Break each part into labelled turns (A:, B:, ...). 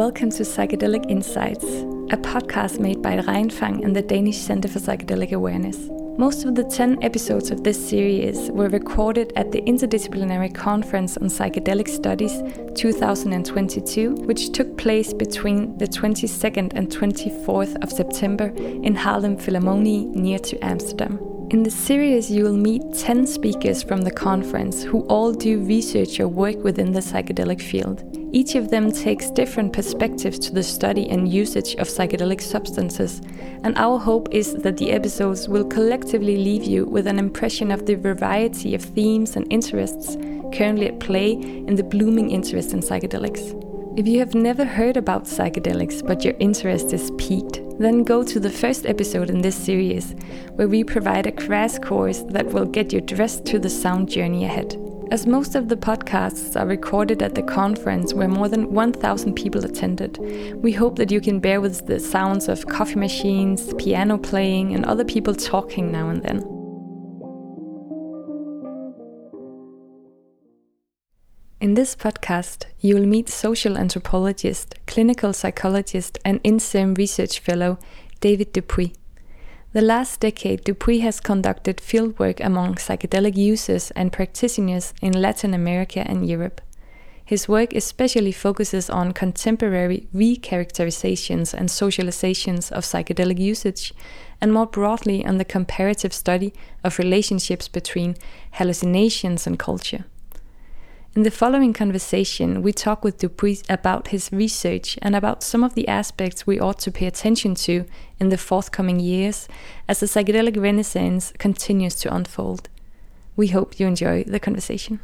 A: welcome to Psychedelic Insights, a podcast made by Rein Fang and the Danish Center for Psychedelic Awareness. Most of the 10 episodes of this series were recorded at the Interdisciplinary Conference on Psychedelic Studies 2022, which took place between the 22nd and 24th of September in Haarlem Philharmonie near to Amsterdam. In the series, you will meet 10 speakers from the conference who all do research or work within the psychedelic field. Each of them takes different perspectives to the study and usage of psychedelic substances, and our hope is that the episodes will collectively leave you with an impression of the variety of themes and interests currently at play in the blooming interest in psychedelics. If you have never heard about psychedelics but your interest is piqued, then go to the first episode in this series, where we provide a crash course that will get you dressed to the sound journey ahead. As most of the podcasts are recorded at the conference where more than 1,000 people attended, we hope that you can bear with the sounds of coffee machines, piano playing, and other people talking now and then. In this podcast, you will meet social anthropologist, clinical psychologist, and INSERM research fellow David Dupuy. The last decade, Dupuy has conducted fieldwork among psychedelic users and practitioners in Latin America and Europe. His work especially focuses on contemporary recharacterizations and socializations of psychedelic usage, and more broadly on the comparative study of relationships between hallucinations and culture. In the following conversation, we talk with Dupuy about his research and about some of the aspects we ought to pay attention to in the forthcoming years as the psychedelic renaissance continues to unfold. We hope you enjoy the conversation.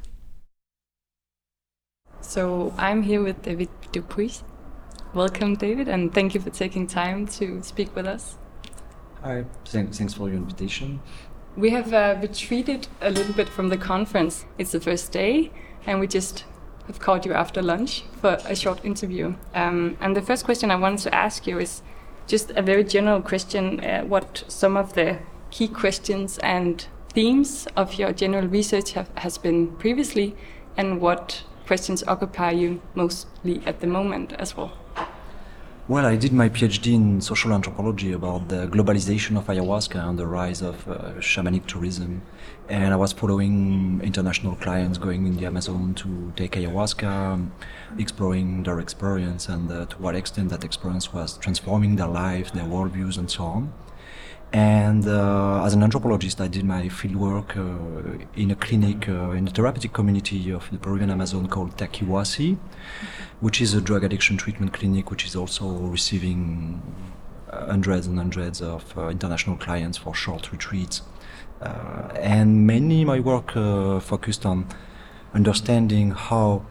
A: So I'm here with David Dupuy. Welcome, David, and thank you for taking time to speak with us.
B: Hi, thanks for your invitation.
A: We have retreated a little bit from the conference. It's the first day, and we just have called you after lunch for a short interview. And the first question I wanted to ask you is just a very general question, what some of the key questions and themes of your general research has been previously, and what questions occupy you mostly at the moment as well.
B: Well, I did my PhD in social anthropology about the globalization of ayahuasca and the rise of shamanic tourism. And I was following international clients going in the Amazon to take ayahuasca, exploring their experience and to what extent that experience was transforming their lives, their worldviews, and so on. And as an anthropologist, I did my fieldwork in a clinic, in the therapeutic community of the Peruvian Amazon called Taquihuasi, which is a drug addiction treatment clinic which is also receiving hundreds and hundreds of international clients for short retreats. And mainly my work focused on understanding how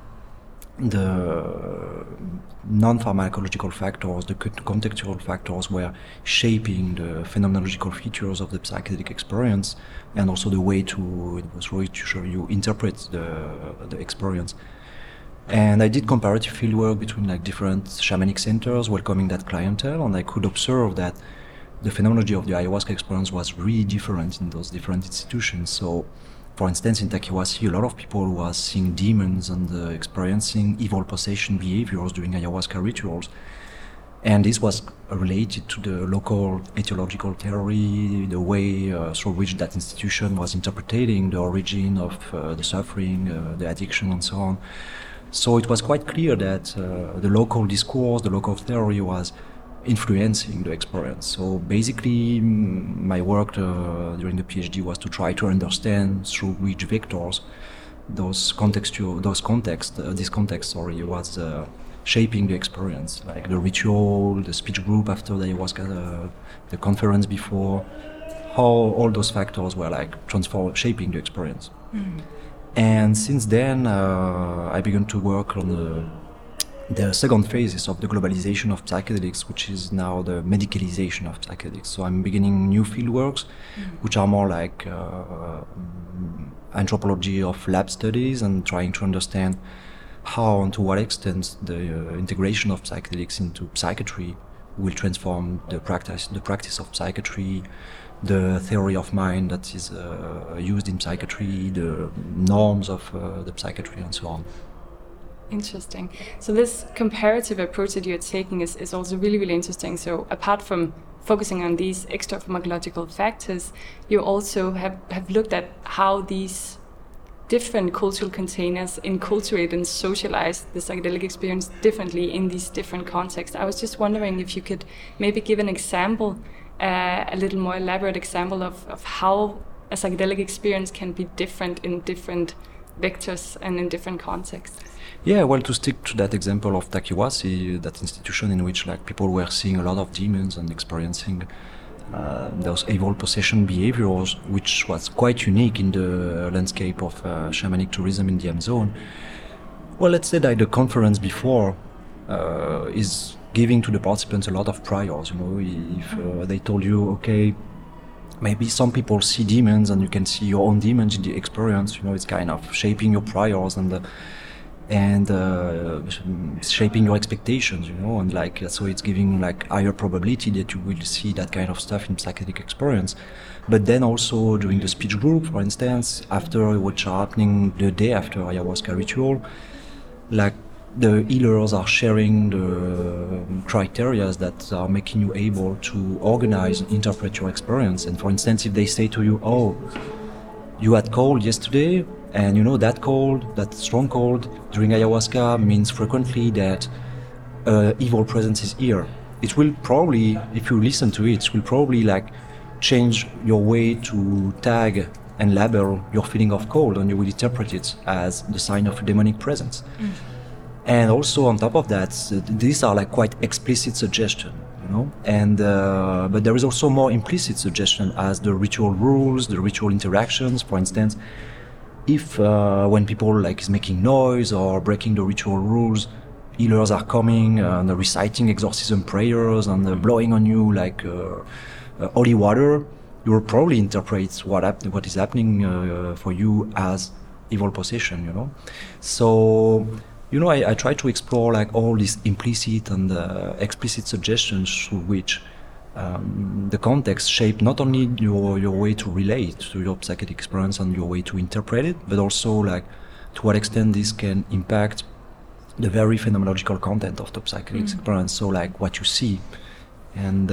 B: the non-pharmacological factors, the contextual factors were shaping the phenomenological features of the psychedelic experience, and also the way to you interpret the experience. And I did comparative fieldwork between different shamanic centers welcoming that clientele, and I could observe that the phenomenology of the ayahuasca experience was really different in those different institutions. So, for instance, in Taquihuasi, a lot of people were seeing demons and experiencing evil possession behaviors during ayahuasca rituals. And this was related to the local etiological theory, the way through which that institution was interpreting the origin of the suffering, the addiction, and so on. So it was quite clear that the local discourse, the local theory was influencing the experience. So basically, my work during the PhD was to try to understand through which vectors this context was shaping the experience, like the ritual, the speech group after the ayahuasca, the conference before, how all those factors were shaping the experience. Mm. And since then, I began to work on the second phases of the globalization of psychedelics, which is now the medicalization of psychedelics. So I'm beginning new fieldworks, which are more like anthropology of lab studies and trying to understand how and to what extent the integration of psychedelics into psychiatry will transform the practice of psychiatry, the theory of mind that is used in psychiatry, the norms of the psychiatry, and so on.
A: Interesting. So this comparative approach that you're taking is also really, really interesting. So apart from focusing on these extra pharmacological factors, you also have looked at how these different cultural containers enculturate and socialize the psychedelic experience differently in these different contexts. I was just wondering if you could maybe give an example, a little more elaborate example of how a psychedelic experience can be different in different vectors and in different contexts.
B: Yeah, well, to stick to that example of Takiwasi, that institution in which like people were seeing a lot of demons and experiencing those evil possession behaviors, which was quite unique in the landscape of shamanic tourism in the Amazon. Well, let's say that the conference before is giving to the participants a lot of priors. You know, if they told you, okay, maybe some people see demons and you can see your own demons in the experience, you know, it's kind of shaping your priors and shaping your expectations, you know, and like so it's giving like higher probability that you will see that kind of stuff in psychedelic experience. But then also during the speech group, for instance, after what's happening the day after ayahuasca ritual, like the healers are sharing the criteria that are making you able to organize and interpret your experience. And for instance, if they say to you, oh, you had cold yesterday, and you know that cold, that strong cold during ayahuasca means frequently that evil presence is here. It will probably, if you listen to it, it will probably like change your way to tag and label your feeling of cold, and you will interpret it as the sign of a demonic presence. And also on top of that, these are like quite explicit suggestions, you know. And but there is also more implicit suggestion as the ritual rules, the ritual interactions. For instance, if when people like is making noise or breaking the ritual rules, healers are coming and reciting exorcism prayers and blowing on you like holy water, you will probably interpret what is happening for you as evil possession, you know. So, you know, I try to explore like all these implicit and explicit suggestions through which the context shape not only your way to relate to your psychedelic experience and your way to interpret it, but also like to what extent this can impact the very phenomenological content of the psychedelic experience. So like what you see, and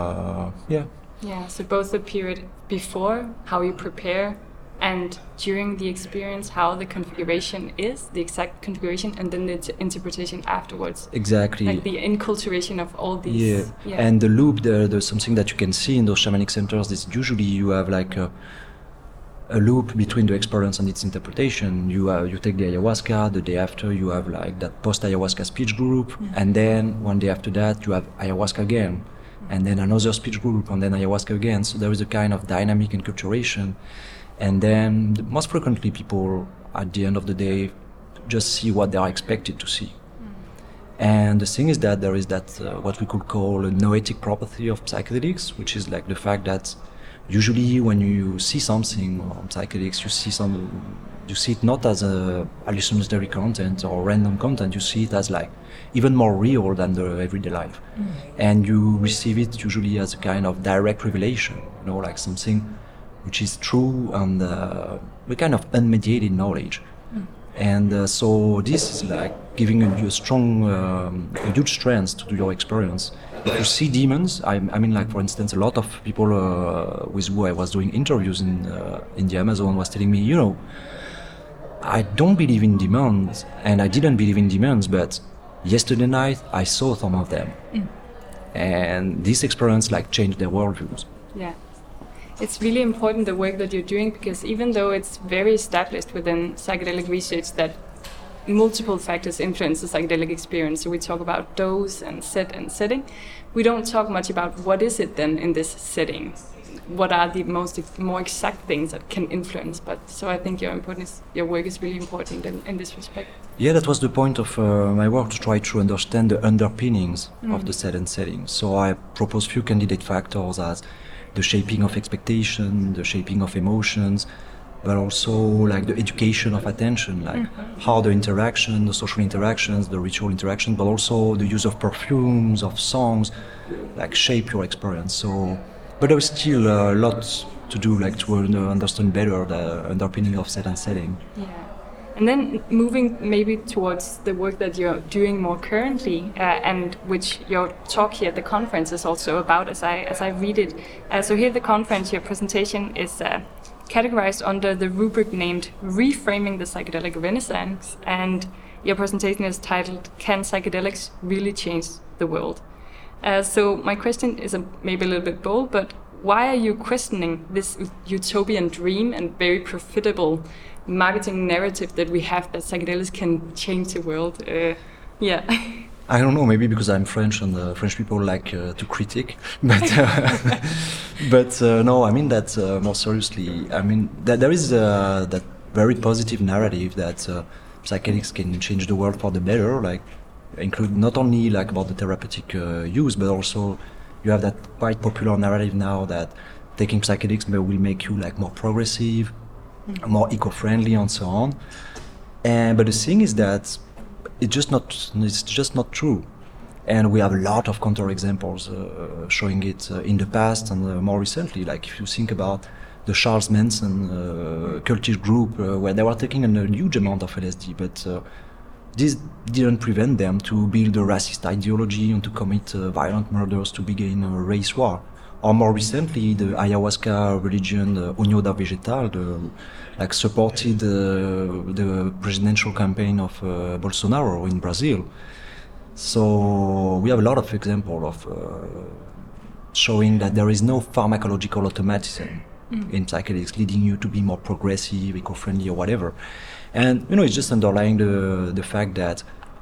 A: Yeah, so both the period before, how you prepare, and during the experience, how the configuration is, the exact configuration, and then the interpretation afterwards.
B: Exactly.
A: Like the enculturation of all these.
B: Yeah. And the loop, there's something that you can see in those shamanic centers. Is usually you have like a loop between the experience and its interpretation. You take the ayahuasca, the day after you have like that post-ayahuasca speech group, and then one day after that you have ayahuasca again, and then another speech group, and then ayahuasca again. So there is a kind of dynamic enculturation. And then most frequently people at the end of the day just see what they are expected to see. And the thing is that there is that what we could call a noetic property of psychedelics, which is like the fact that usually when you see something on psychedelics, you see it not as a hallucinatory content or random content, you see it as like even more real than the everyday life. And you receive it usually as a kind of direct revelation, you know, like something which is true and a kind of unmediated knowledge. And so this is like giving you a strong, a huge strength to your experience. If you see demons, I mean, like for instance, a lot of people with who I was doing interviews in the Amazon was telling me, you know, I don't believe in demons, and I didn't believe in demons, but yesterday night I saw some of them, and this experience like changed their worldviews.
A: Yeah. It's really important the work that you're doing, because even though it's very established within psychedelic research that multiple factors influence the psychedelic experience, so we talk about dose and set and setting, we don't talk much about what is it then in this setting. What are the more exact things that can influence? But so I think your work is really important in this respect.
B: Yeah, that was the point of my work, to try to understand the underpinnings of the set and setting. So I propose few candidate factors as the shaping of expectation, the shaping of emotions, but also like the education of attention, like how the interaction, the social interactions, the ritual interaction, but also the use of perfumes, of songs, like shape your experience. So, but there's still a lot to do, like to understand better the underpinning of set and setting.
A: Yeah. And then moving maybe towards the work that you're doing more currently, and which your talk here at the conference is also about, as I read it. So here at the conference, your presentation is categorized under the rubric named Reframing the Psychedelic Renaissance, and your presentation is titled, Can Psychedelics Really Change the World? So my question is maybe a little bit bold, but why are you questioning this utopian dream and very profitable marketing narrative that we have that psychedelics can change the world?
B: I don't know, maybe because I'm French and French people like to critique, but no, I mean that more seriously. I mean that there is that very positive narrative that psychedelics can change the world for the better, like include not only like about the therapeutic use, but also you have that quite popular narrative now that taking psychedelics will make you like more progressive, more eco-friendly, and so on. But the thing is that it's just not true. And we have a lot of counterexamples showing it in the past and more recently. Like if you think about the Charles Manson cultist group, where they were taking a huge amount of LSD, but this didn't prevent them to build a racist ideology and to commit violent murders to begin a race war. Or more recently, the ayahuasca religion, the União da Vegetal, supported the presidential campaign of Bolsonaro in Brazil. So we have a lot of examples of showing that there is no pharmacological automatism in psychedelics leading you to be more progressive, eco-friendly, or whatever. And it's just underlying the fact that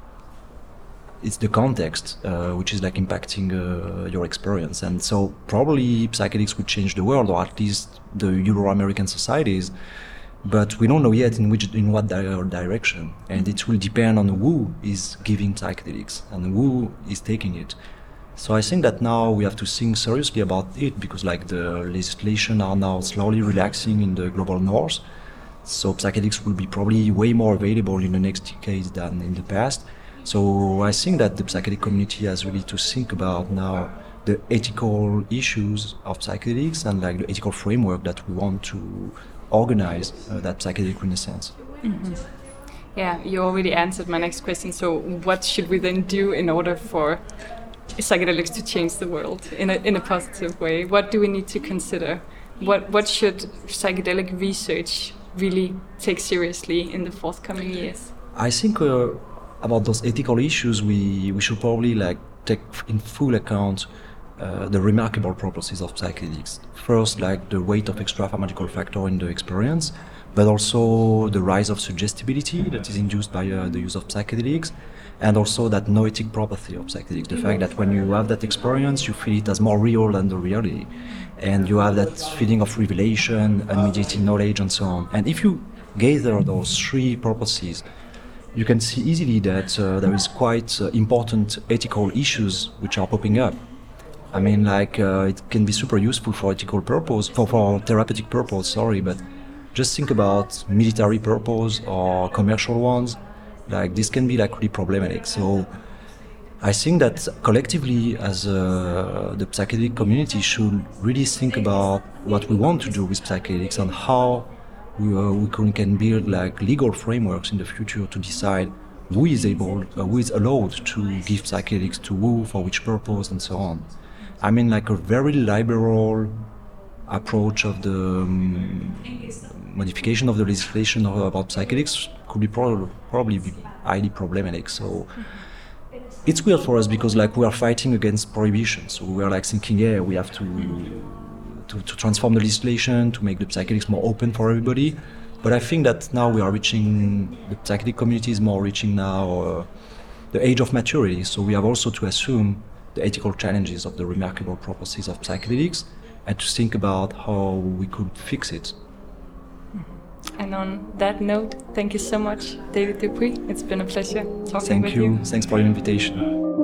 B: it's the context which is like impacting your experience. And so probably psychedelics would change the world, or at least the Euro-American societies, but we don't know yet in what direction. And it will depend on who is giving psychedelics and who is taking it. So I think that now we have to think seriously about it, because like the legislation are now slowly relaxing in the global north. So psychedelics will be probably way more available in the next decades than in the past. So I think that the psychedelic community has really to think about now the ethical issues of psychedelics and like the ethical framework that we want to organize that psychedelic renaissance.
A: Mm-hmm. Yeah, you already answered my next question. So what should we then do in order for psychedelics to change the world in a positive way? What do we need to consider? What should psychedelic research really take seriously in the forthcoming years?
B: I think about those ethical issues, we should probably like take in full account the remarkable properties of psychedelics. First, like the weight of extra-pharmacological factor in the experience, but also the rise of suggestibility that is induced by the use of psychedelics, and also that noetic property of psychedelics, the fact that when you have that experience, you feel it as more real than the reality, and you have that feeling of revelation, unmediated knowledge, and so on. And if you gather those three properties, you can see easily that there is quite important ethical issues which are popping up. I mean, like it can be super useful for ethical purpose, for therapeutic purpose, but just think about military purpose or commercial ones. Like this can be like really problematic. So I think that collectively as the psychedelic community should really think about what we want to do with psychedelics and how we can build like legal frameworks in the future to decide who is allowed to give psychedelics to who, for which purpose, and so on. I mean, like a very liberal approach of the modification of the legislation about psychedelics could be probably be highly problematic. So it's weird for us because like we are fighting against prohibition. So we are like thinking, we have to transform the legislation to make the psychedelics more open for everybody. But I think that now we are reaching, the psychedelic community is more reaching now the age of maturity. So we have also to assume the ethical challenges of the remarkable properties of psychedelics and to think about how we could fix it.
A: And on that note, thank you so much, David Dupuy. It's been a pleasure talking with you.
B: Thanks for your invitation.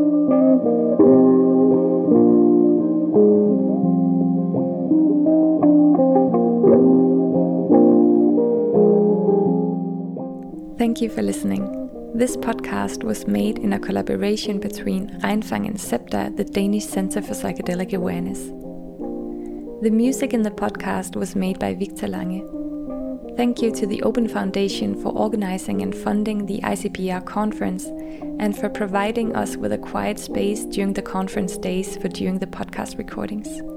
A: Thank you for listening. This podcast was made in a collaboration between Reinfang and CEPTA, the Danish Center for Psychedelic Awareness. The music in the podcast was made by Victor Lange. Thank you to the Open Foundation for organizing and funding the ICPR conference and for providing us with a quiet space during the conference days for doing the podcast recordings.